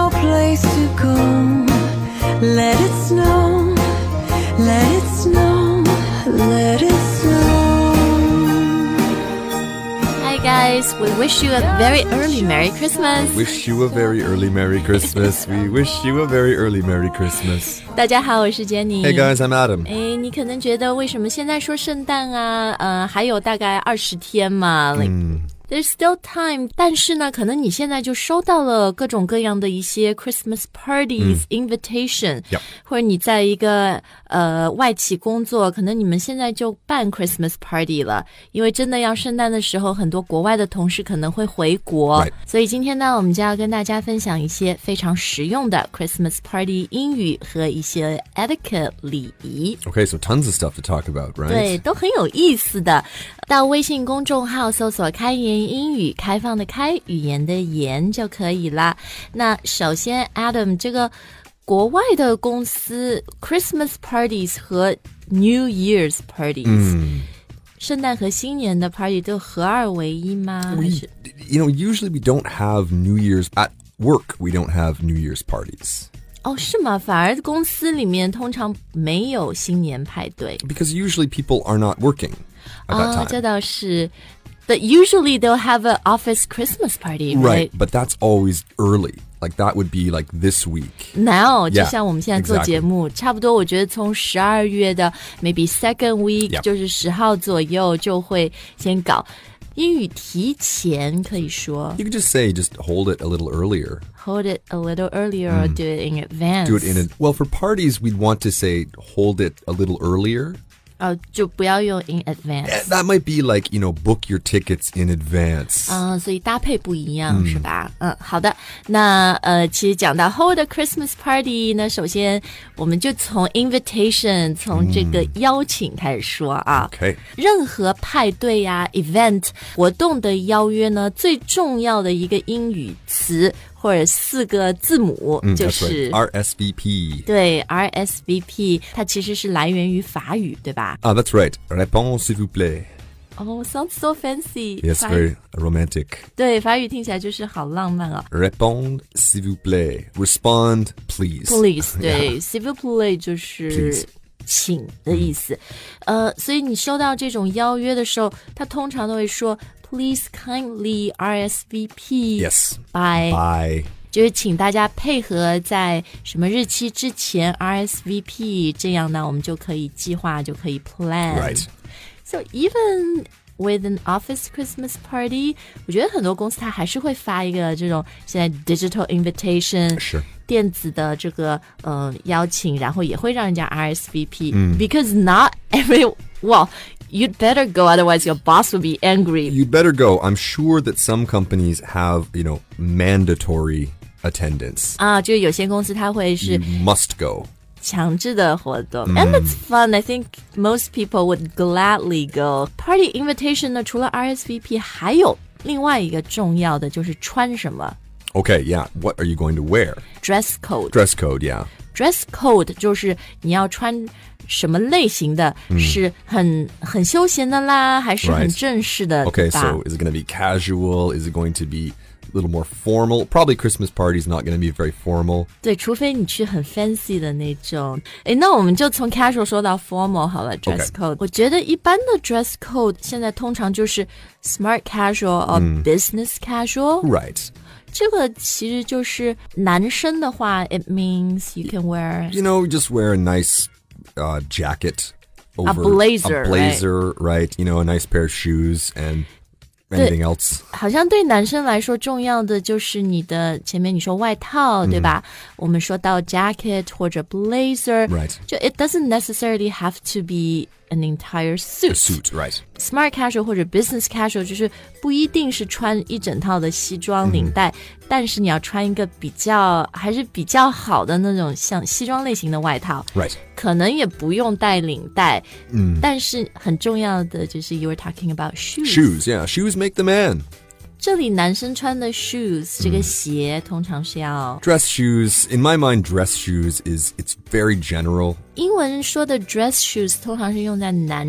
no place to go. Let it snow, let it snow, let it snow.Hi guys, we wish you a very early Merry Christmas. Wish you a very early Merry Christmas. We wish you a very early Merry Christmas. 大家好，我是 Jenny. Hey guys, I'm Adam. 你可能觉得为什么现在说圣诞啊？还有大概20天嘛。There's still time. 但是呢，可能你现在就收到了各种各样的一些 Christmas parties invitation， 或者你在一个外企工作，可能你们现在就办 Christmas party 了，因为真的要圣诞的时候，很多国外的同事可能会回国，所以今天呢，我们就要跟大家分享一些非常实用的 Christmas party 英语和一些 etiquette 礼仪。 Okay, so tons of stuff to talk about, right? 对，都很有意思的。到微信公众号搜索开言英语，开放的开，语言的言就可以啦。那首先 Adam， 这个国外的公司 Christmas parties 和 New Year's parties，圣诞和新年的 party 都合二为一吗？ Usually we don't have New Year's at work. We don't have New Year's parties. 哦，是吗？反而公司里面通常没有新年派对。 Because usually people are not working at that time. 这倒是。But usually they'll have an office Christmas party, right? But that's always early. Like that would be like this week. Now, 就像我们现在做节目，差不多我觉得从12月的 maybe second week， 就是10号左右就会先搞。英语提前可以说 You could just say, just hold it a little earlier. Hold it a little earlier or do it in advance. Do it well, for parties, we'd want to say hold it a little earlier. 就不要用 in advance. That might be like, book your tickets in advance. 所以搭配不一样，是吧？好的。那其实讲到 hold a Christmas party 呢，首先我们就从 invitation 从这个邀请开始说啊。 Okay. 任何派对呀、event 活动的邀约呢，最重要的一个英语词或者4个字母就是 RSVP. 对 RSVP 它其实是来源于法语对吧？ That's right. Réponds s'il vous plaît. Oh, sounds so fancy. Yes, very romantic. 对，法语听起来就是好浪漫啊。 Réponds s'il vous plaît. Respond, please. Please, 对 s'il vous plaît 就是请的意思。所以你收到这种邀约的时候，他通常都会说Please kindly RSVP. Yes. Bye. 就是请大家配合在什么日期之前 RSVP， 这样呢我们就可以计划，就可以 plan. Right. So even with an office Christmas party, 我觉得很多公司它还是会发一个这种现在 digital invitation， 是电子的这个邀请，然后也会让人家 RSVP、because not you'd better go, otherwise your boss will be angry. You'd better go. I'm sure that some companies have, mandatory attendance. 就有些公司它会是 You must go. 强制的活动 And it's fun. I think most people would gladly go. Party invitation 呢，除了 RSVP 还有另外一个重要的就是穿什么。 Okay, yeah. What are you going to wear? Dress code. Dress code, yeah. Dress code 就是你要穿什么类型的，是很休闲的啦，还是很正式的 Okay, 对吧？ so is it going to be casual? Is it going to be a little more formal? Probably Christmas party's not going to be very formal. 对，除非你去很 fancy 的那种。那我们就从 casual 说到 formal 好了 dress code。我觉得一般的 dress code 现在通常就是 smart casual or business casual。 Right. 这个其实就是男生的话 it means you can wear just wear a nice jacket over a blazer, right? A nice pair of shoes and anything else. 好像对男生来说重要的就是你的前面你说外套对吧？我们说到 jacket 或者 blazer， Right. 就 it doesn't necessarily have to be an entire suit. A suit, right. Smart casual 或者 business casual 就是不一定是穿一整套的西装领带，但是你要穿一个还是比较好的那种像西装类型的外套。 Right. 可能也不用带领带，但是很重要的就是 you were talking about shoes. Shoes, yeah. Shoes make the man. 这里男生穿的 shoes 这个鞋通常是要 Dress shoes, in my mind, dress shoes it's very general. 英文说的 dress shoes 通常是用在男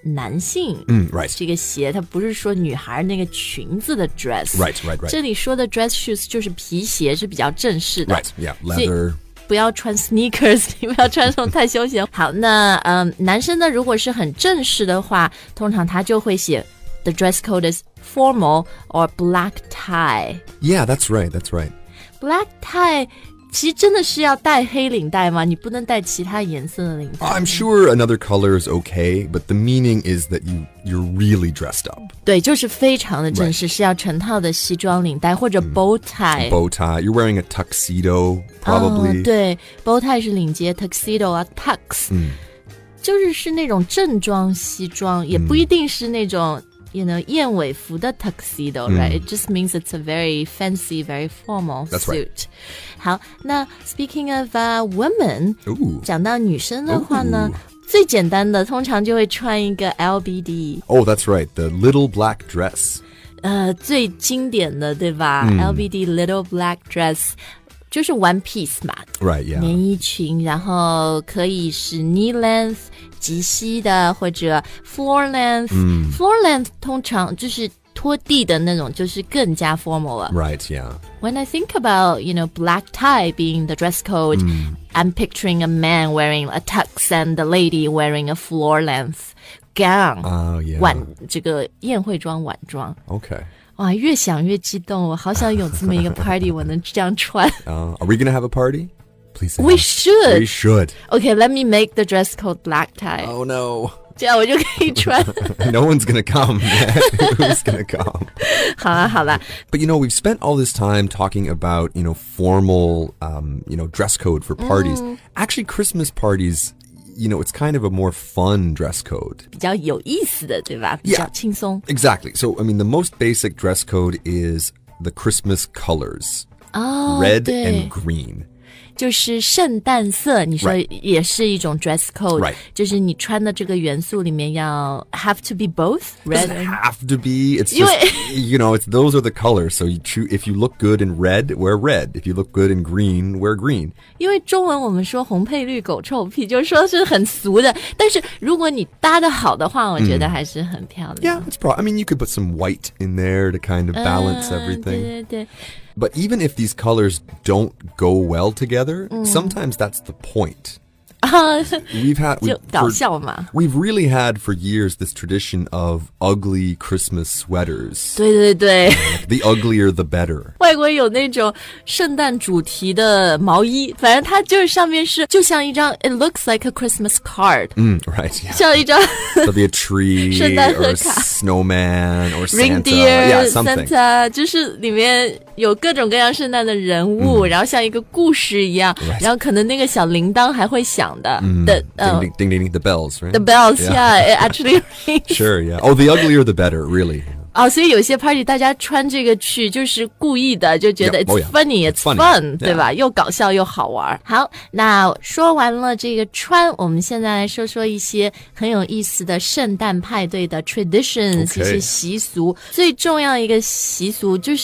男性 right. 这个鞋，它不是说女孩那个裙子的 dress。 Right. 这里说的 dress shoes 就是皮鞋，是比较正式的。 Right, yeah, leather. 不要穿 sneakers， 你不要穿这种太休闲。好，那男生呢，如果是很正式的话，通常他就会写 The dress code is formal or black tie. Yeah, that's right. Black tie 其实真的是要带黑领带吗？你不能带其他颜色的领带。 I'm sure another color is okay, but the meaning is that you're really dressed up. 对，就是非常的正式，是要成套的西装领带或者 bow tie。 Bow tie. You're wearing a tuxedo, probably. 对 bow tie 是领结 tuxedo 啊 tux，就是那种正装西装，也不一定是那种燕尾服的 tuxedo, right? It just means it's a very fancy, very formal That's suit. right. 好，那 speaking of women, Ooh. 讲到女生的话呢，最简单的通常就会穿一个 LBD. Oh, that's right. The little black dress. 最经典的对吧？LBD little black dress 就是 one piece 嘛 Right, yeah. 连衣裙，然后可以是 knee length 及膝的，或者 floor length。floor length 通常就是拖地的那种，就是更加 formal 了。 Right, yeah. When I think about, black tie being the dress code, I'm picturing a man wearing a tux and the lady wearing a floor length gown. Yeah. 这个宴会装晚装。 Okay. 哇，越想越激动，我好想有这么一个 party 我能这样穿。 Are we going to have a party? Please say We no. should. We should. Okay, let me make the dress code black tie. Oh, no. 这样我就可以穿。 No one's going to come. Who's going to come? 好啦。 But, we've spent all this time talking about, formal, dress code for parties. Actually, Christmas parties, it's kind of a more fun dress code. 比较有意思的，对吧？比较轻松。 Exactly. So, the most basic dress code is the Christmas colors. Red 对 and green. 就是圣诞色，你说也是一种 dress code， Right. 就是你穿的这个元素里面要 have to be both red Doesn't and have to be. It's just, it's those are the colors. So you choose, if you look good in red, wear red. If you look good in green, wear green. 因为中文我们说红配绿狗臭屁，就是说是很俗的，但是如果你搭得好的话，我觉得还是很漂亮。 Yeah, it's you could put some white in there to kind of balance everything. 对。 But even if these colors don't go well together, sometimes that's the point. 就搞笑嘛。 We've really had for years this tradition of ugly Christmas sweaters. 对。 The uglier the better. 外国有那种圣诞主题的毛衣，反正它就是上面是就像一张 it looks like a Christmas card. Right, yeah. 像一张 So be a tree 圣诞 or 贺 a 卡 snowman or Santa. reindeer, Yeah, something. Santa, 就是里面有各种各样圣诞的人物，然后像一个故事一样，然后可能那个小铃铛还会响的。 Ding, ding, ding, the bells, right? The bells, yeah, it actually rings. Sure, yeah. Oh, the uglier the better, really. 所以有些 party 大家穿这个去就是故意的，就觉得 it's funny, it's fun, 对吧？又搞笑又好玩。好，那说完了这个穿，我们现在来说说一些很有意思的圣诞派对的 traditions， 一些习俗。最重要一个习俗就是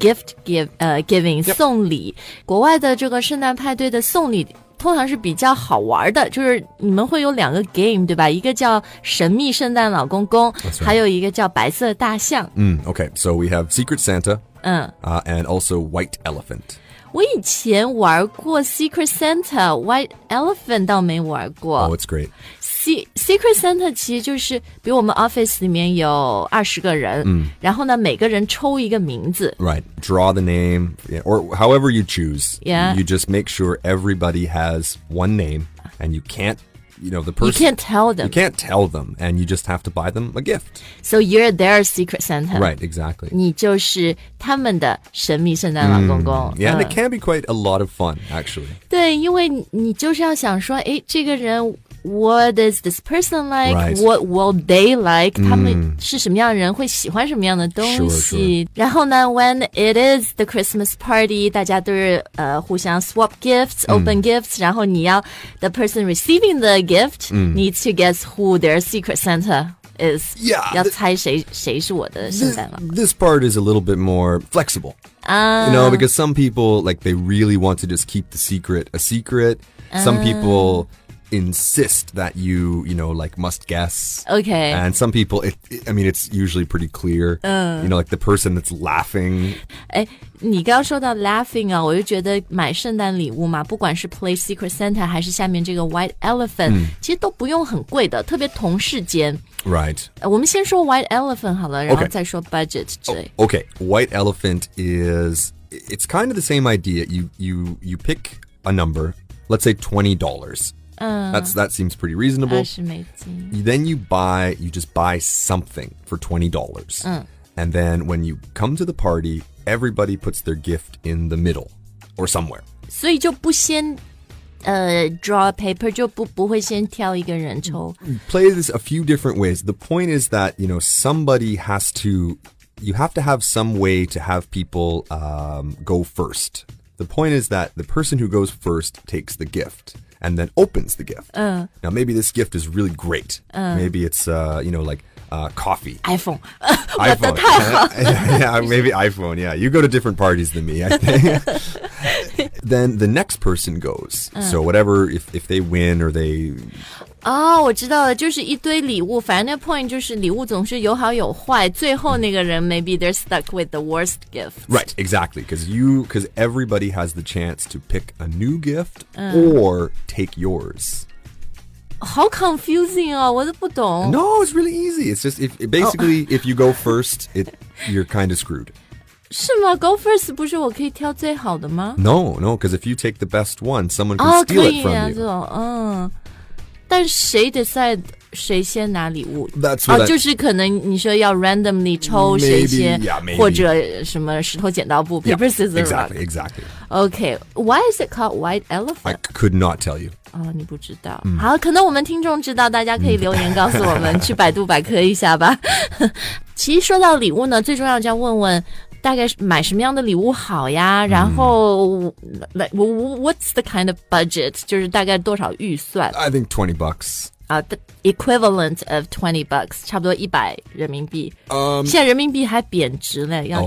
giving 送礼。国外的这个圣诞派对的送礼通常是比较好玩的，就是你们会有2个 game 对吧？一个叫神秘圣诞老公公，还有一个叫白色大象。 Okay, so we have Secret Santa and also White Elephant. 我以前玩过 Secret Santa, White Elephant 倒没玩过。 Oh, it's great. Secret Santa 其实就是比如我们 office 里面有20个人，然后呢每个人抽一个名字。 Right. Draw the name, or however you choose. Yeah. You just make sure everybody has one name, and you can't, the person. You can't tell them. You can't tell them, and you just have to buy them a gift. So you're their Secret Santa. Right, exactly. 你就是他们的神秘圣诞老公公。 Yeah, and it can be quite a lot of fun, actually. 对，因为你就是要想说，诶，这个人 What is this person like? Right. What will they like? 他们是什么样的人，会喜欢什么样的东西。 Sure. 然后呢 when it is the Christmas party, 大家都是互相 swap gifts, open gifts, 然后你要 the person receiving the gift needs to guess who their Secret Santa is. Yeah. 要猜谁是我的圣诞老公。 This part is a little bit more flexible. Because some people, they really want to just keep the secret a secret. Some people insist that you like must guess. Okay. And some people, it's usually pretty clear. Like the person that's laughing. 哎，你刚刚说到 laughing 啊，我就觉得买圣诞礼物嘛，不管是 Play Secret Santa 还是下面这个 White Elephant，其实都不用很贵的，特别同事间。 Right. 我们先说 White Elephant 好了，然后再说 budget 之类。 Okay, White Elephant it's kind of the same idea. You pick a number, let's say $20. That seems pretty reasonable. 20美金。 Then you just buy something for $20. And then when you come to the party, everybody puts their gift in the middle or somewhere. 所以就不先draw a paper 就不会先挑一个人抽。 Play this a few different ways. The point is that, somebody you have to have some way to have people go first. The point is that the person who goes first takes the gift and then opens the gift. Now, maybe this gift is really great. Maybe it's, like coffee. iPhone. iPhone. Yeah, maybe iPhone. Yeah, you go to different parties than me, I think. Then the next person goes. So whatever, if they win or they... 我知道了，就是一堆礼物，反正那 point 就是礼物总是有好有坏，最后那个人 maybe they're stuck with the worst gift. Right, exactly, because everybody has the chance to pick a new gift or take yours. 好 confusing 哦，我都不懂。 No, it's really easy. It's just if you go first, you're kind of screwed. 是吗 ？Go first 不是我可以挑最好的吗 No, because if you take the best one, someone can steal it from 可以啊， you. 这种但谁 decide 谁先拿礼物 That's what 就是可能你说要 randomly 抽谁先 maybe. 或者什么石头剪刀布 paper scissors rock. Exactly. Okay, why is it called White Elephant? I could not tell you. 你不知道。好，可能我们听众知道，大家可以留言告诉我们，去百度百科一下吧。其实说到礼物呢，最重要就要问问大概买什么样的礼物好呀？然后what's the kind of budget？ 就是大概多少预算 I think $20. the equivalent of $20 差不多100人民币。现在人民币还贬值了，要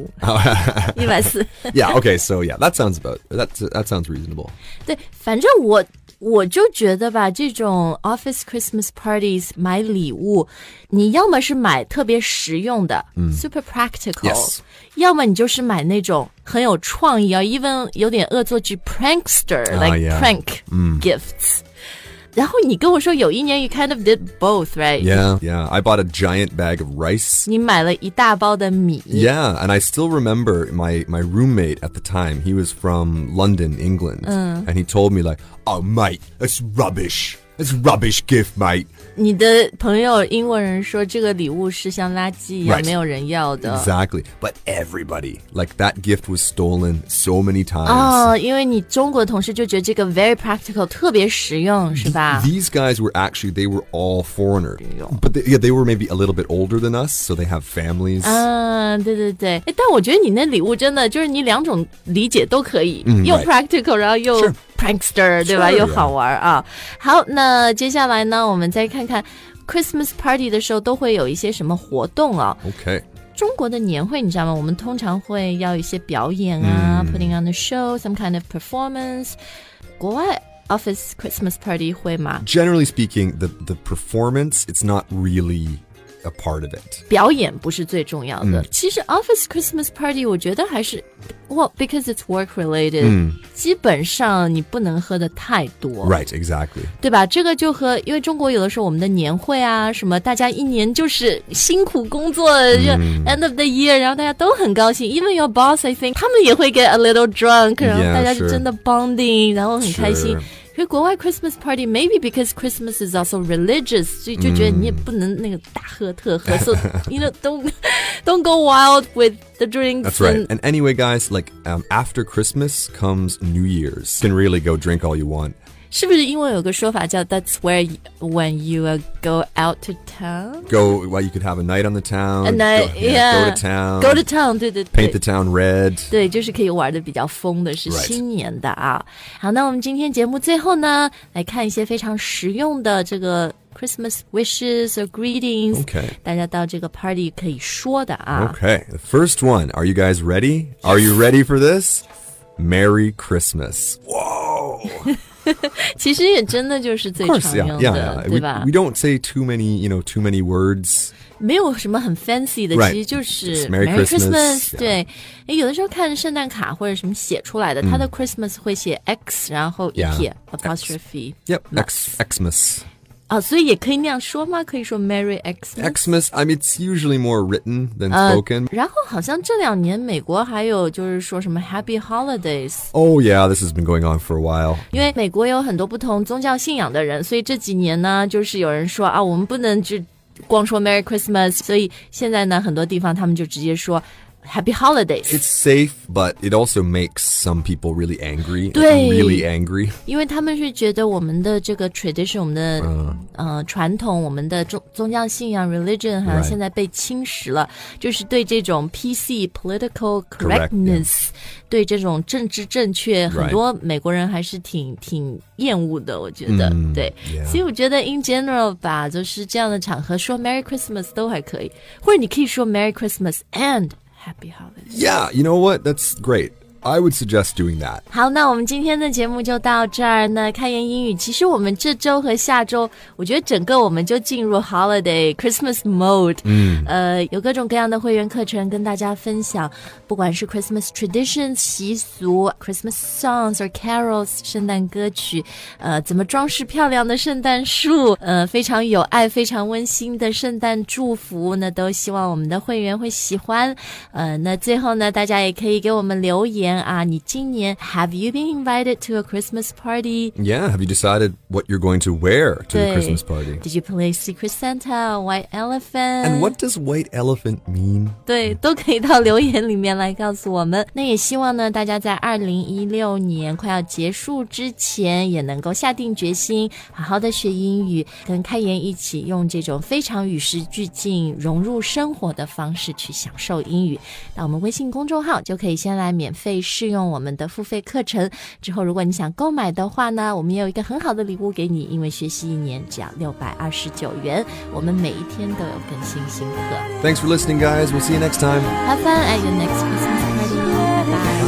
150、140。 Yeah. Okay. So yeah, that sounds reasonable. 对，反正我就觉得吧，这种 office Christmas parties 买礼物，你要么是买特别实用的、super practical， Yes. 要么你就是买那种很有创意even 有点恶作剧 prankster like yeah. prank gifts。然后你跟我说有一年 you kind of did both, right? Yeah. I bought a giant bag of rice. 你买了一大包的米。 Yeah, and I still remember my roommate at the time. He was from London, England, and he told me like, "Oh, mate, that's rubbish. That's rubbish gift, mate." 你的朋友英国人说这个礼物是像垃圾一样， Right. 没有人要的。 Exactly. But everybody, like that gift was stolen so many times. 因为你中国的同事就觉得这个 very practical 特别实用，是吧？ These guys were they were all foreigners. But they were maybe a little bit older than us, so they have families. 对。但我觉得你那礼物真的就是你两种理解都可以，又 practical， 然后又 prankster， 对吧？ 又好玩啊。好，那接下来呢，我们再看看 Christmas party 的时候都会有一些什么活动啊 Okay. 中国的年会你知道吗？我们通常会要一些表演啊，putting on the show, some kind of performance。国外 office Christmas party 会吗？ Generally speaking, the performance, it's not really a part of it. 表演不是最重要的。其实 office Christmas party 我觉得还是because it's work related，基本上你不能喝的太多。 Right, exactly. 对吧？这个就和因为中国有的时候我们的年会啊，什么大家一年就是辛苦工作，end of the year， 然后大家都很高兴。Even your boss, I think， 他们也会 get a little drunk， 然后大家是真的 bonding， 然后很开心。可是国外 Christmas party maybe because Christmas is also religious， 所以就觉得你也不能那个大喝特喝，so you know don't go wild with the drinks. That's right. And anyway, guys, like after Christmas comes New Year's. You can really go drink all you want. 是不是因为有个说法叫 That's when you go out to town? You could have a night on the town. A night, go to town. Go to town, 对。 Paint the town red. 对，就是可以玩的比较疯的是新年的啊。好，那我们今天节目最后呢，来看一些非常实用的这个 Christmas wishes or greetings。 Okay. 大家到这个 party 可以说的啊。 Okay, the first one. Are you guys ready? Are you ready for this? Merry Christmas. Whoa. 其实也真的就是最 Of 常 course, 用 yeah, 的， yeah. 对吧 We don't say too many words. 没有什么很 fancy 的 Right. 其实就是 Just Merry Christmas, yeah. 对，有的时候看圣诞卡或者什么写出来的，它的 Christmas 会写 X， 然后一撇 apostrophe。 Yep, Xmas. 所以也可以那样说吗？可以说 Merry Xmas。 Xmas, I mean, it's usually more written than spoken. 然后好像这2年美国还有就是说什么 Happy Holidays。 Oh, yeah, this has been going on for a while. 因为美国有很多不同宗教信仰的人，所以这几年呢，就是有人说我们不能只光说 Merry Christmas， 所以现在呢，很多地方他们就直接说 Happy Holidays。 It's safe, but it also makes some people really angry. 对 Really angry. 因为他们是觉得我们的这个 tradition， 我们的传统，我们的宗教信仰 religion 好像 Right. 现在被侵蚀了，就是对这种 PC political Correct, correctness， 对这种政治正确， Right. 很多美国人还是挺厌恶的，我觉得，对， yeah. 所以我觉得 in general 吧，就是这样的场合说 Merry Christmas 都还可以，或者你可以说 Merry Christmas and Happy Holidays。 Yeah, you know what? That's great. I would suggest doing that. 好，那我们今天的节目就到这儿。那开言英语，其实我们这周和下周，我觉得整个我们就进入 holiday Christmas mode。有各种各样的会员课程跟大家分享，不管是 Christmas traditions 习俗 ，Christmas songs or carols 圣诞歌曲，怎么装饰漂亮的圣诞树，非常有爱、非常温馨的圣诞祝福，那都希望我们的会员会喜欢。那最后呢，大家也可以给我们留言。你今年 Have you been invited to a Christmas party? Yeah, have you decided what you're going to wear to the 对 Christmas party? Did you play Secret Santa, White Elephant? And what does white elephant mean? 对，都可以到留言里面来告诉我们。那也希望呢，大家在2016年快要结束之前，也能够下定决心，好好的学英语，跟开言一起用这种非常与时俱进、融入生活的方式去享受英语。那我们微信公众号就可以先来免费试用我们的付费课程，之后如果你想购买的话呢，我们也有一个很好的礼物给你，因为学习1年只要629元，我们每一天都有更新新课。 Thanks for listening, guys. We'll see you next time. Have fun at your next Christmas party. Bye bye.